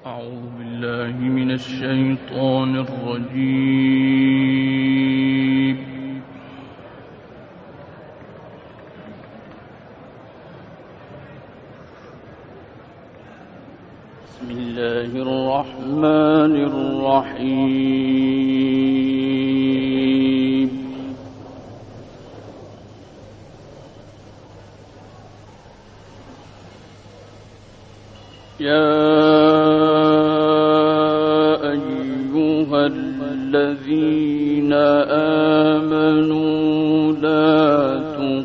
أعوذ بالله من الشيطان الرجيم. بسم الله الرحمن الرحيم. يا أيها الذين آمنوا لا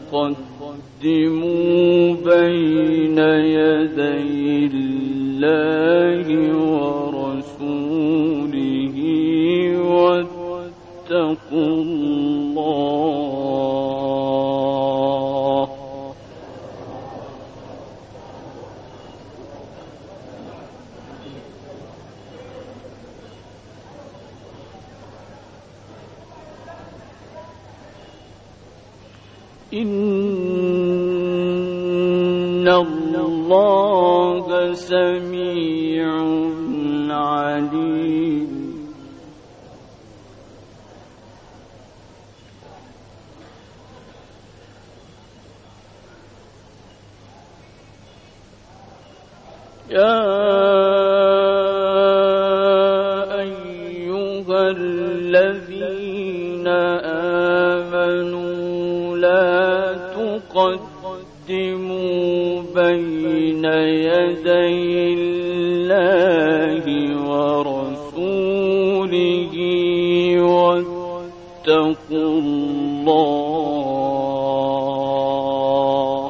تقدموا بين يدي الله ورسوله واتقوا الله إن الله سميع عليم. يا أيها الذين آمنوا لا تقدموا بين يدي الله ورسوله واتقوا الله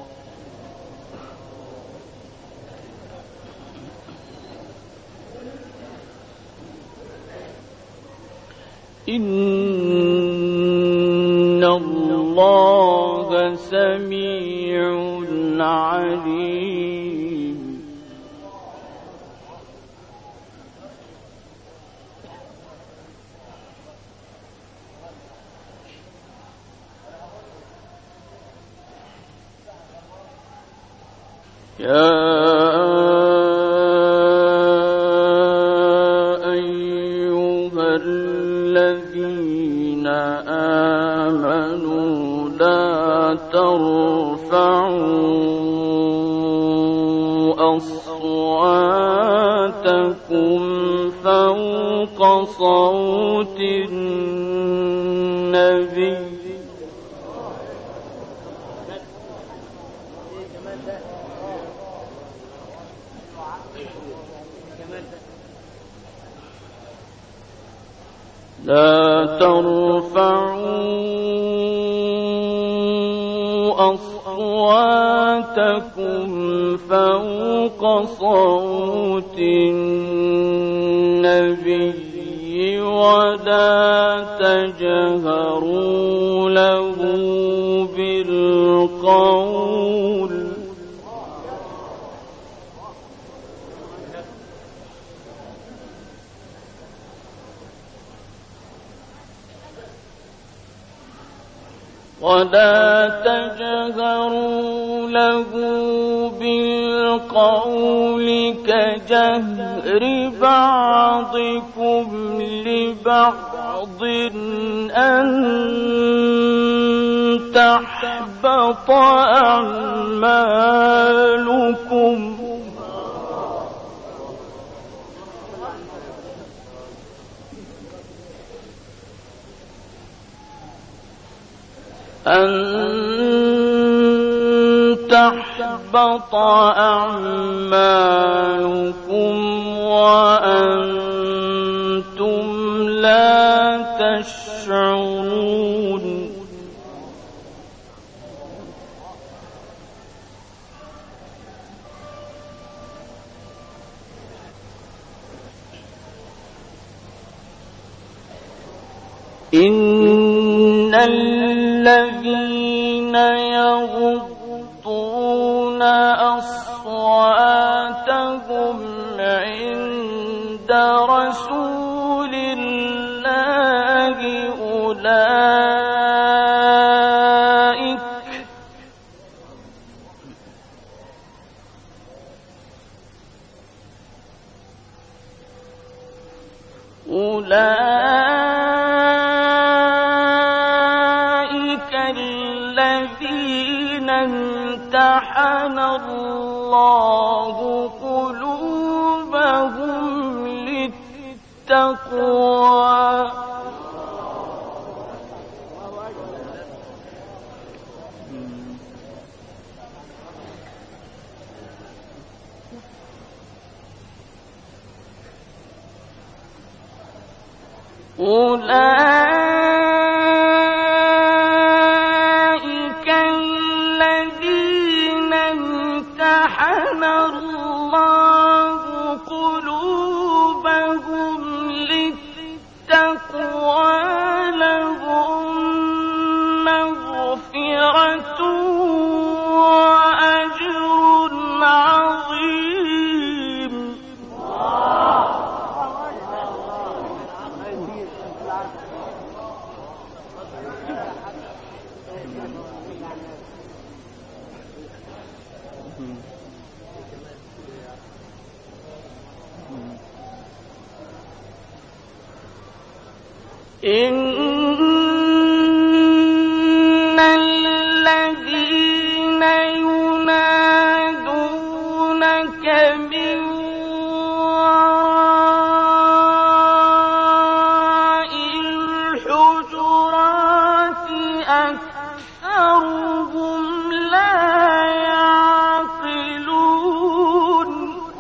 إن الله سميع عليم. يا أيها الذين آمنوا لا ترفعوا أصواتكم فوق صوت النبي لا ترفعوا أصواتكم فوق صوت النبي ولا تجهروا له بالقول كجهر بعضكم لبعض أن تحبط أعمالكم وأنتم لا تشعرون. إن الذين يغضون أصواتهم عند رسول الله أولئك الذين امتحن الله قلوبهم للتقوى أولئك الذين امتحن الله قلوبهم للتقوى لهم مغفرة وأجر عظيم. إن الذين ينادونك من وراء الحجرات أكثرهم لا يعقلون.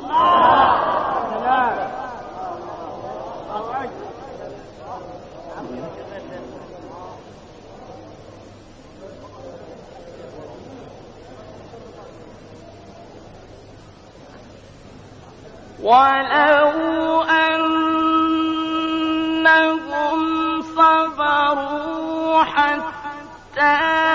ولو أنهم صبروا حتى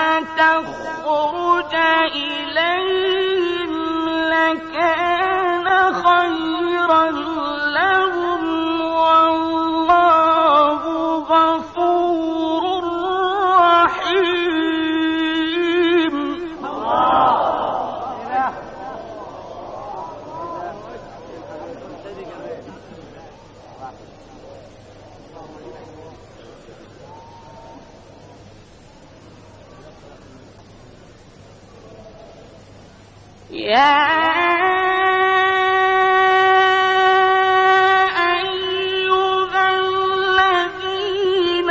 تخرج إليهم لكان خيرا لهم والله غفور رحيم. يا أيها الذين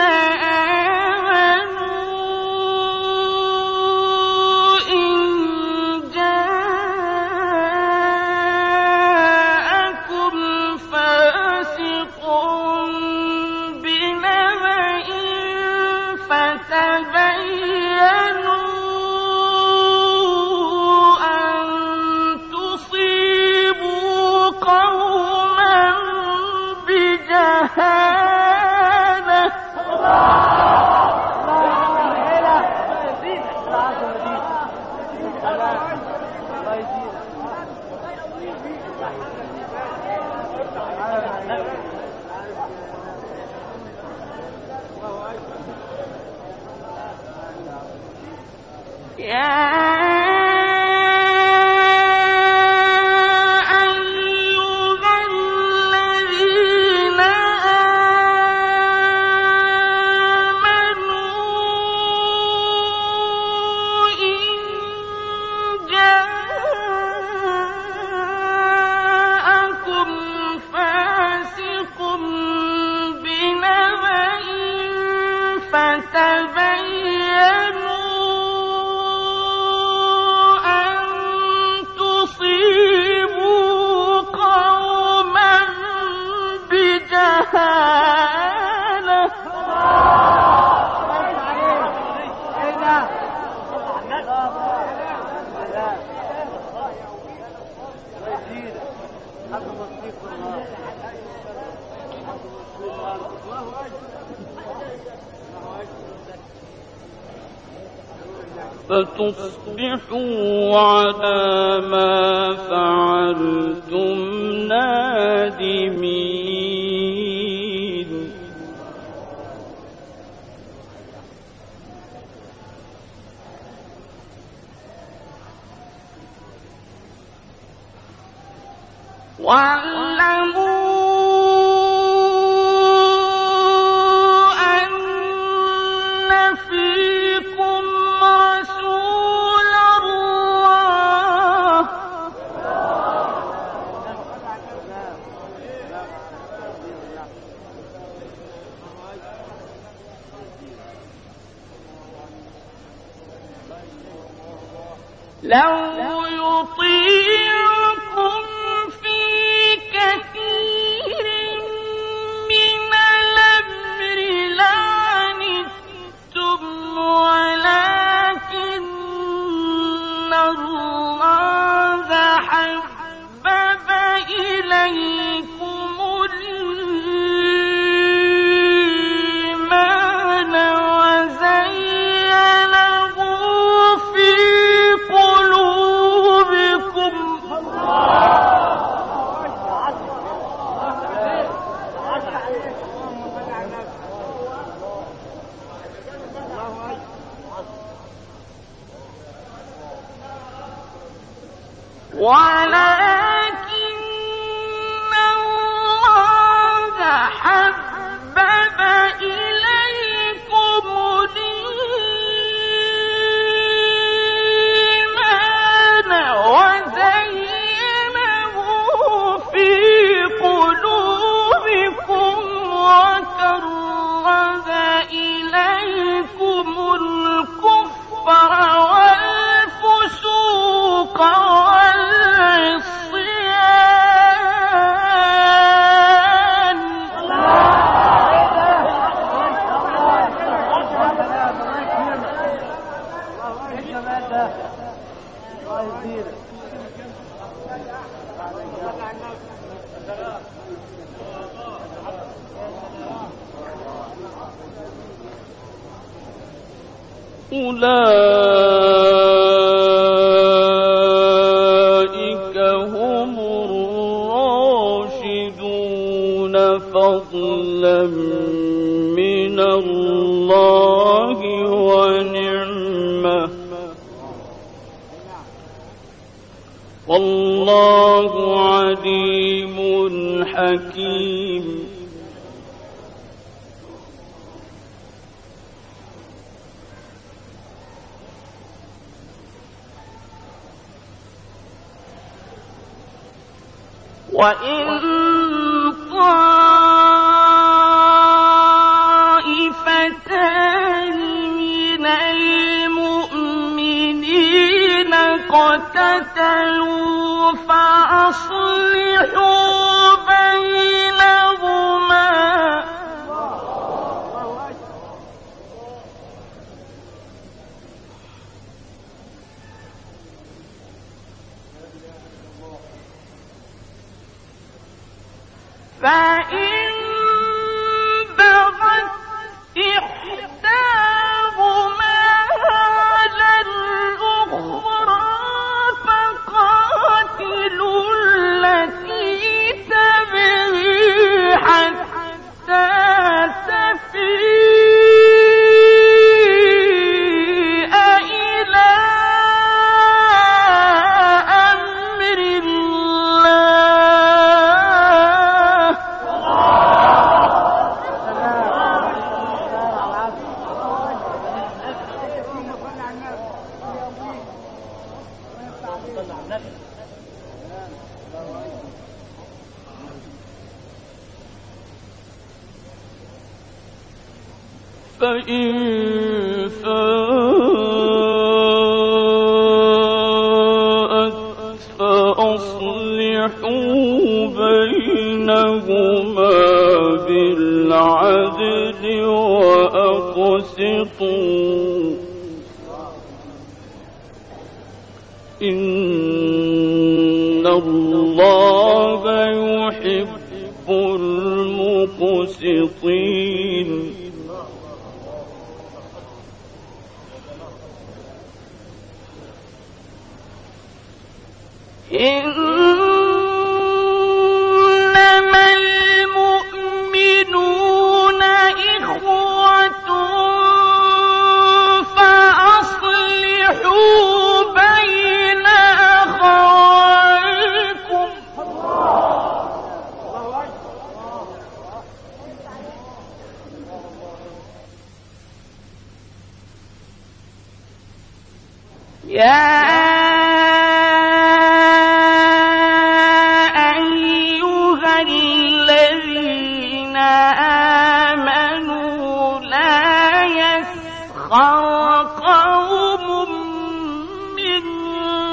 آمنوا إن جاءكم فاسق بنبأ فتبينوا قوما بجهالة فتصبحوا على ما فعلتم نادمين. واعلموا لو يطيعكم في كثير من الأمر لعنتم ولكن الله حبب إليكم الإيمان وزينه في قلوبكم ولكن الله حبب إليكم الإيمان وزينه في قلوبكم وكره إليكم الكفر والفسوق والعصيان أولئك هم الراشدون فضلا من الله ونعمة والله عليم حكيم وإن طائفتان من المؤمنين اقتتلوا فأصلحوا بينهما فإن بغت إحداهما على الأخرى فقاتلوا التي تبغي حتى تفيء إلى أمر الله فإن فاءت فأصلحوا بينهما بالعدل وأقسطوا إن الله يحب المقسطين إنما المؤمنون إخوة فأصلحوا بين أخويكم يا قوم من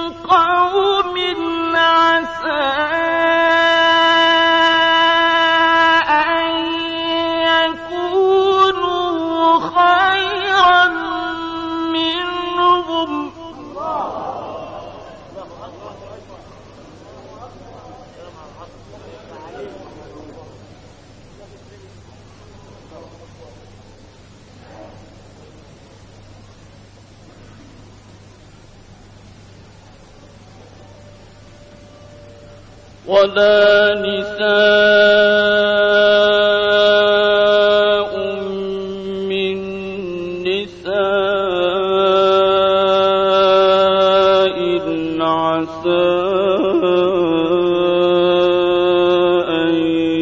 ولا نساء من نساء عسى أن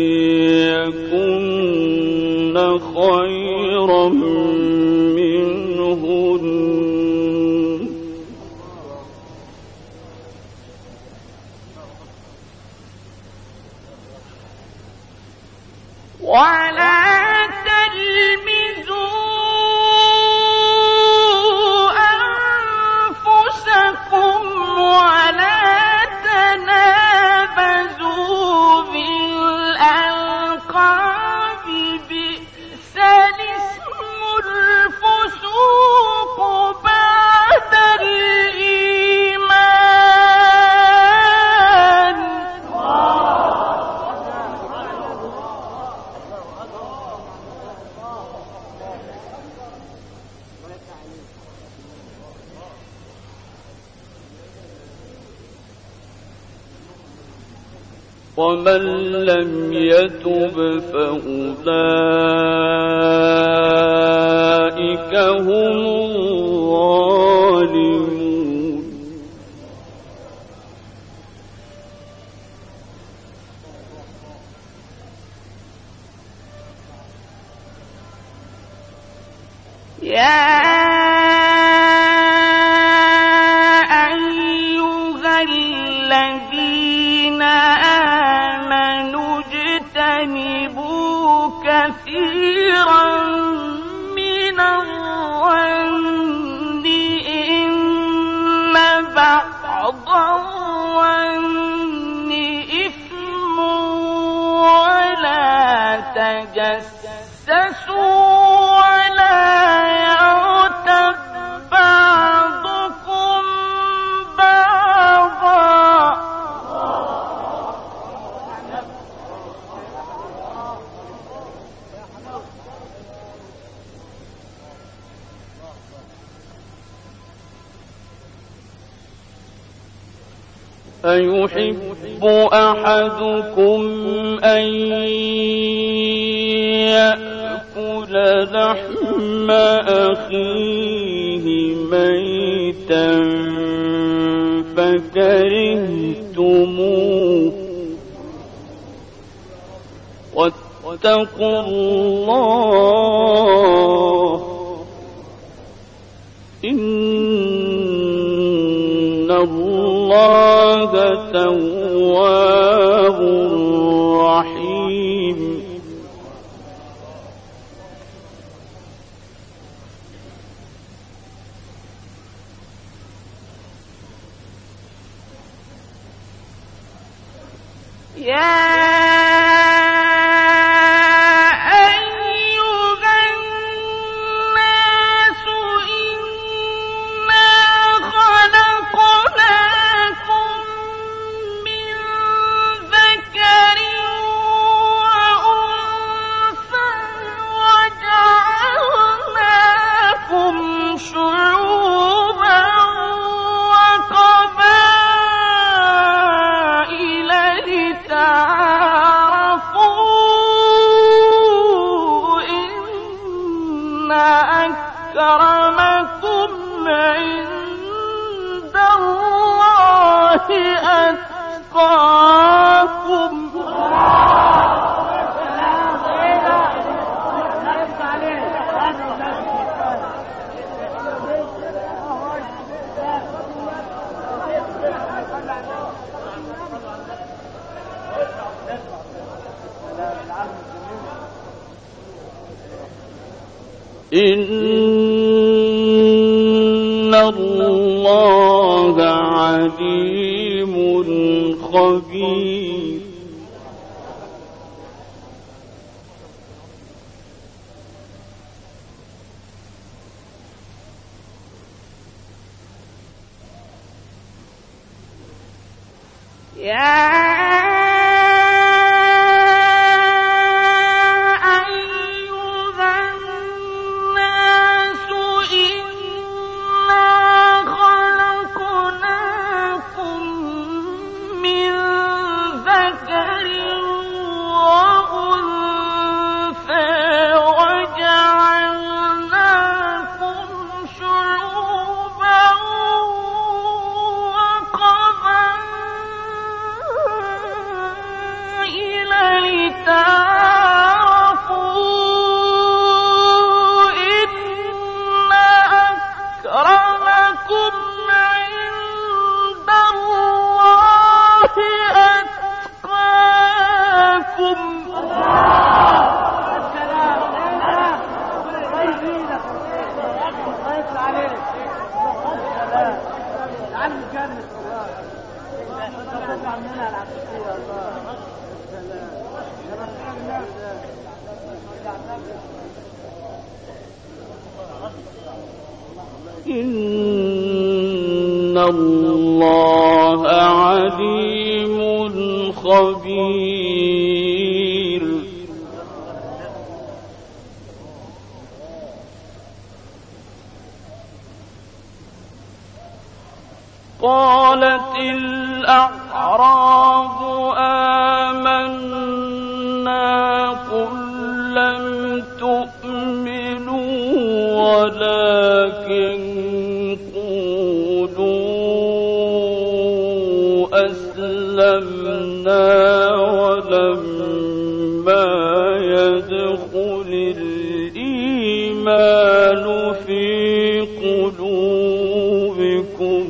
يكن خيرا منهن ولا تلمزوا أنفسكم ولا تنابزوا بالألقاب بئس الاسم الفسوق بعد الإيمان ومن لم يتب فأولئك هم الظالمون يا أيها الذين آمنوا اجتنبوا كثيرا من الظن إن بعض الظن إثم ولا تجسسوا ولا يغتب بعضكم بعضا أيحب أحدكم أن يأكل لحم أخيه ميتا فكرهتموه واتقوا الله إن الله تواب رحيم أكرمكم عند الله أتقاكم إن الله عليم خبير تعارفوا إن أكرمكم عند الله أتقاكم. إن الله عليم خبير. قالت الأعراب آمنا قل لم تؤمنوا ولكن قولوا أسلمنا ولما يدخل الإيمان في قلوبكم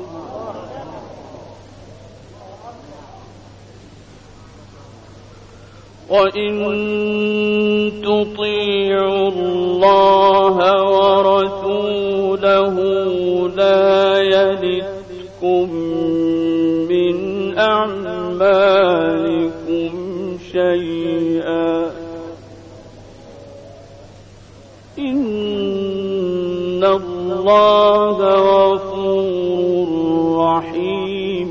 وإن تطيعوا الله ورسوله لا يلتكم من أعمالكم شيئا إن الله غفور رحيم.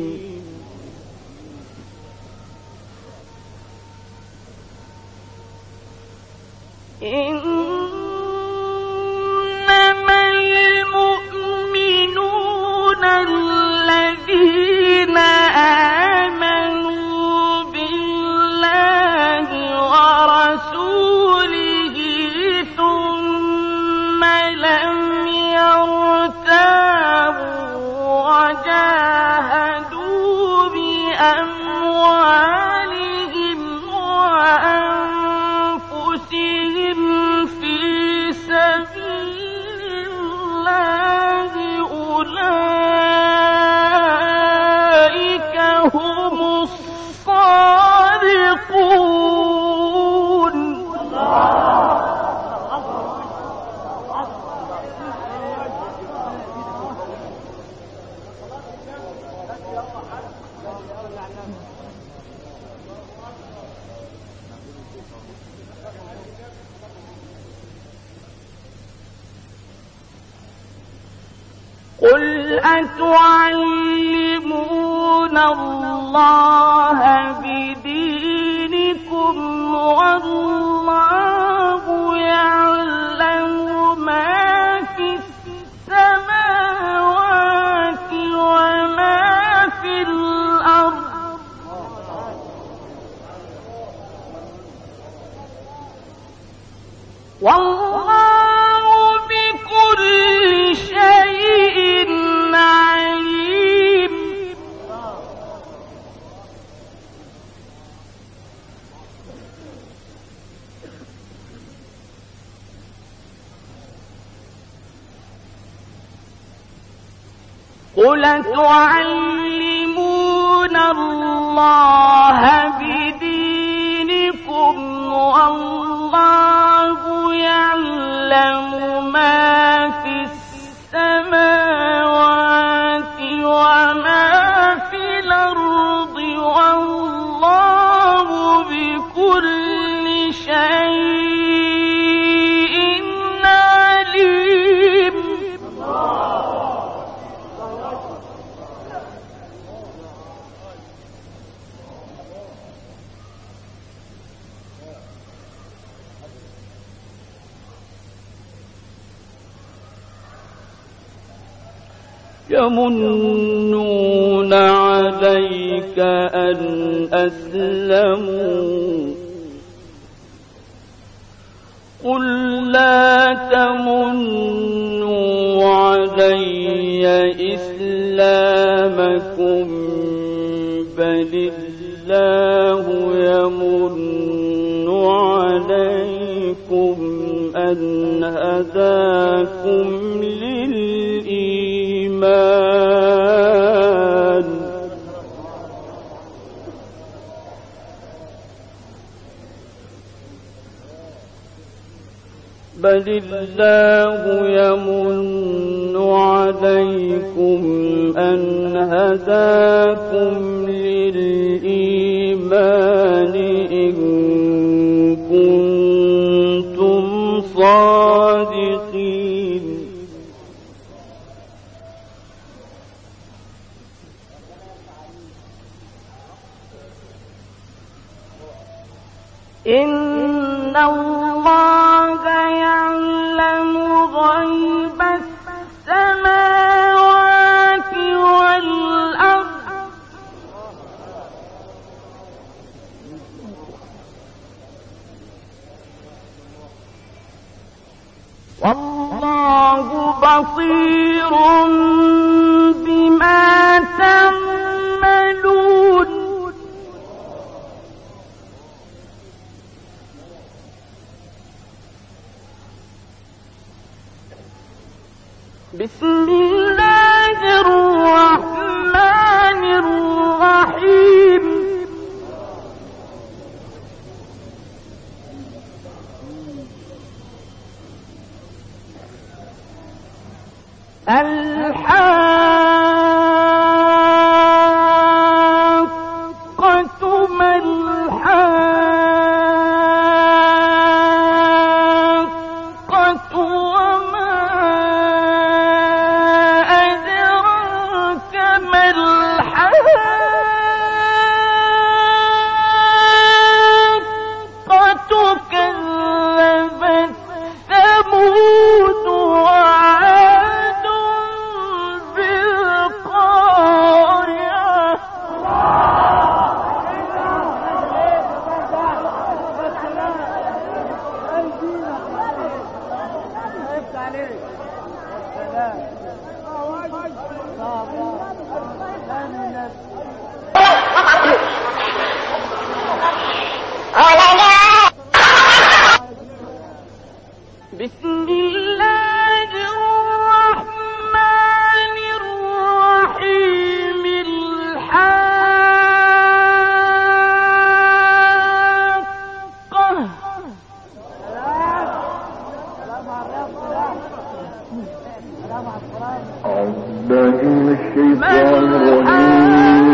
إنما المؤمنون الذين آمنوا بالله ورسوله ثم لم يرتابوا وجاهدوا بأموالهم وأنفسهم في سبيل الله أولئك هم الصادقون. قل أتعلمون الله بدينكم والله يعلم ما في السماوات وما في الأرض والله بكل شيء عليم. قل تعلمون الله بدينكم والله يعلم ما في السماوات وما في الأرض والله بكل شيء عليم. يمنون عليك أن أسلموا قل لا تمنوا علي إسلامكم بل الله يمن أن هداكم للإيمان بل الله يمن عليكم أن هداكم للإيمان إن كنتم صادقين إن الله يعلم غيب السماوات والأرض والله بصير بما تعملون بسم الله الرحمن الرحيم الحاقة ما الحاقة وما أدراك ما الحاقة كذبت ثمود وعاد بالقارعة بسم الله الرحمن الرحيم الحاقة أعوذ بالله من الشيطان الرجيم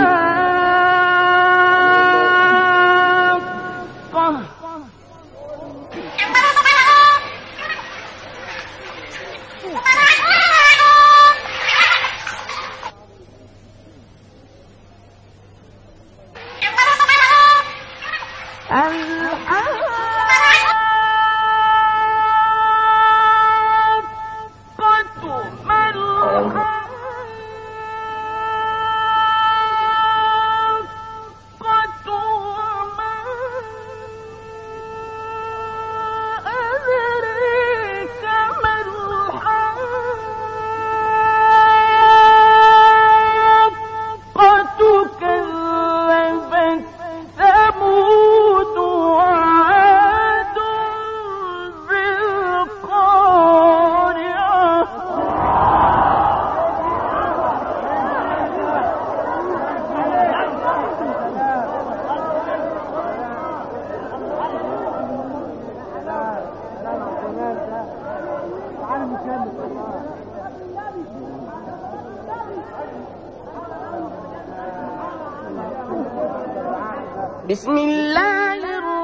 بسم الله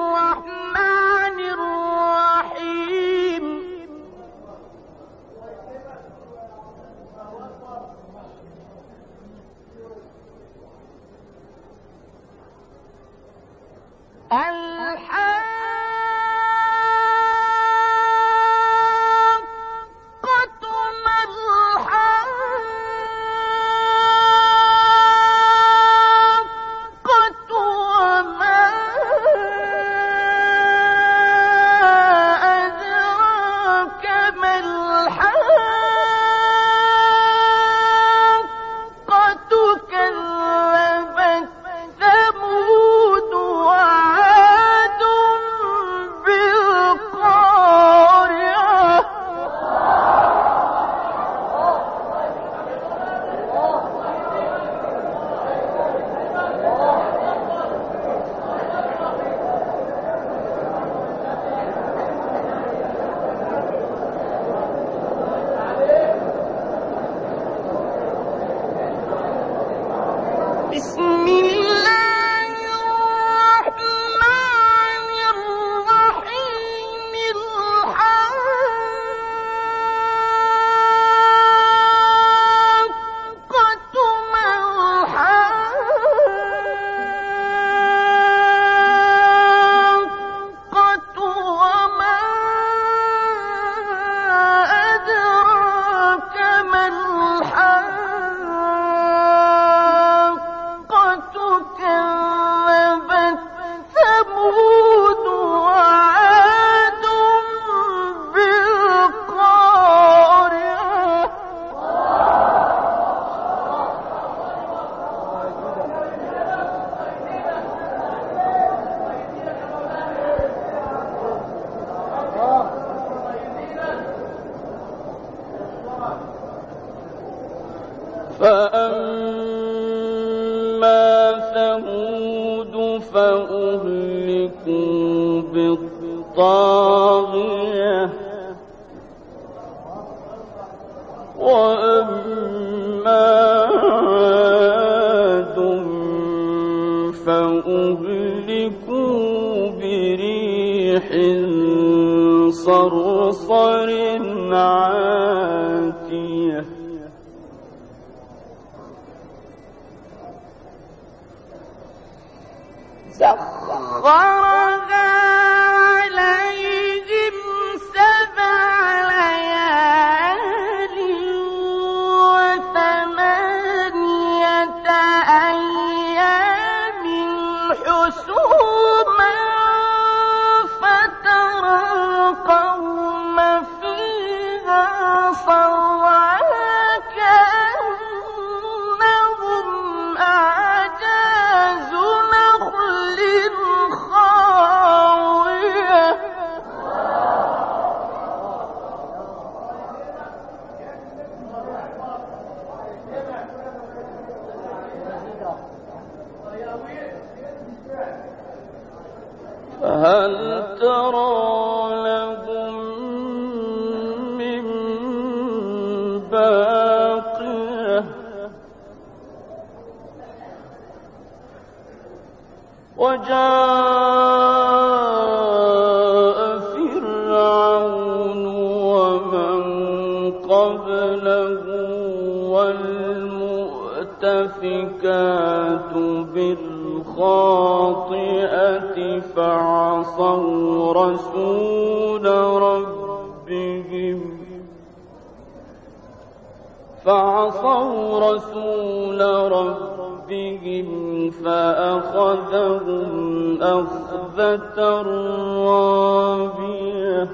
الرحمن الرحيم كذبت ثمود وعاد أهلكوا بالطاغية وأما عاد فأهلكوا بريح صرصر عاتية سخرها عليهم 7 ليال و8 أيام حسوما فترى القوم فيها صرعا كأنهم أعجاز نخل خاوية فهل ترى لهم من باقية وجاء فرعون ومن قبله والمؤتفكات بالخاطئة فعصوا رسول ربهم فأخذهم أخذة رابية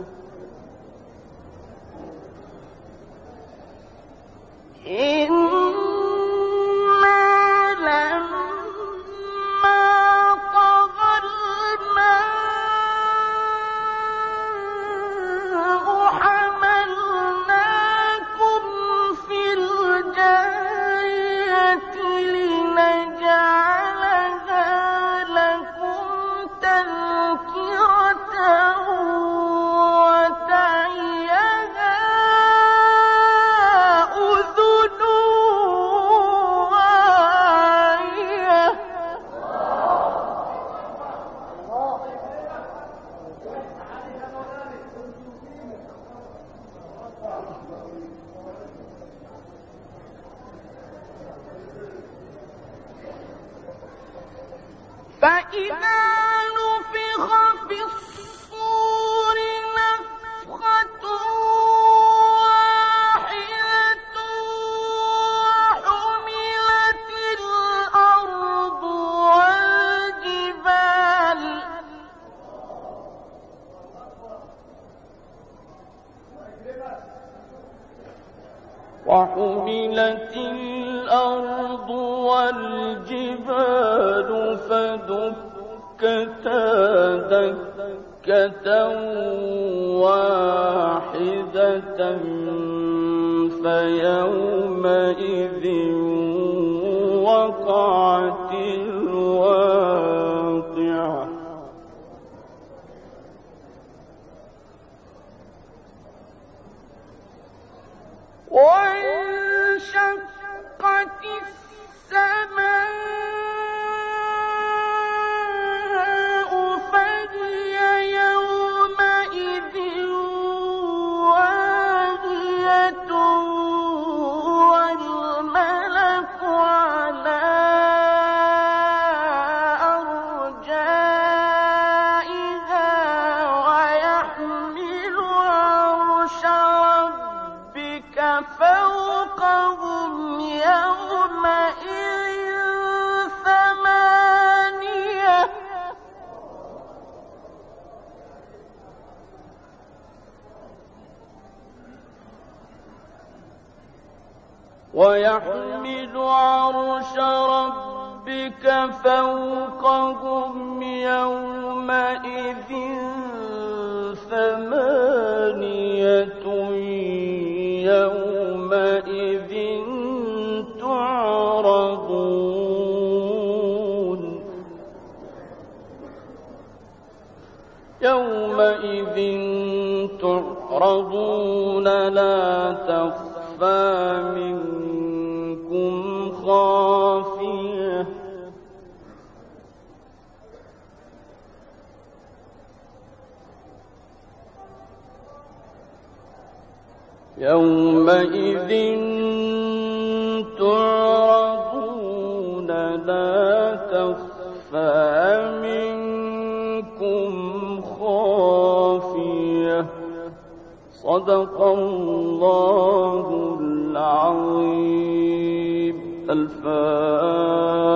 فإذا نفخ في الصور نفخة واحدة وحملت الأرض والجبال فدكتا دكة واحدة فيومئذ وقعت الواقعة وانشقت السماء فهي يومئذ واهية والملك على أرجائها ويحمل عرش ربك فوقهم يومئذ ثمانية ويحمل عرش ربك فوقهم يومئذ ثمانية يومئذ تعرضون يومئذ تعرضون لا تخفى منكم خافية يومئذ تعرضون لا تخفى منكم خافية صدق الله العظيم. الفاتحة.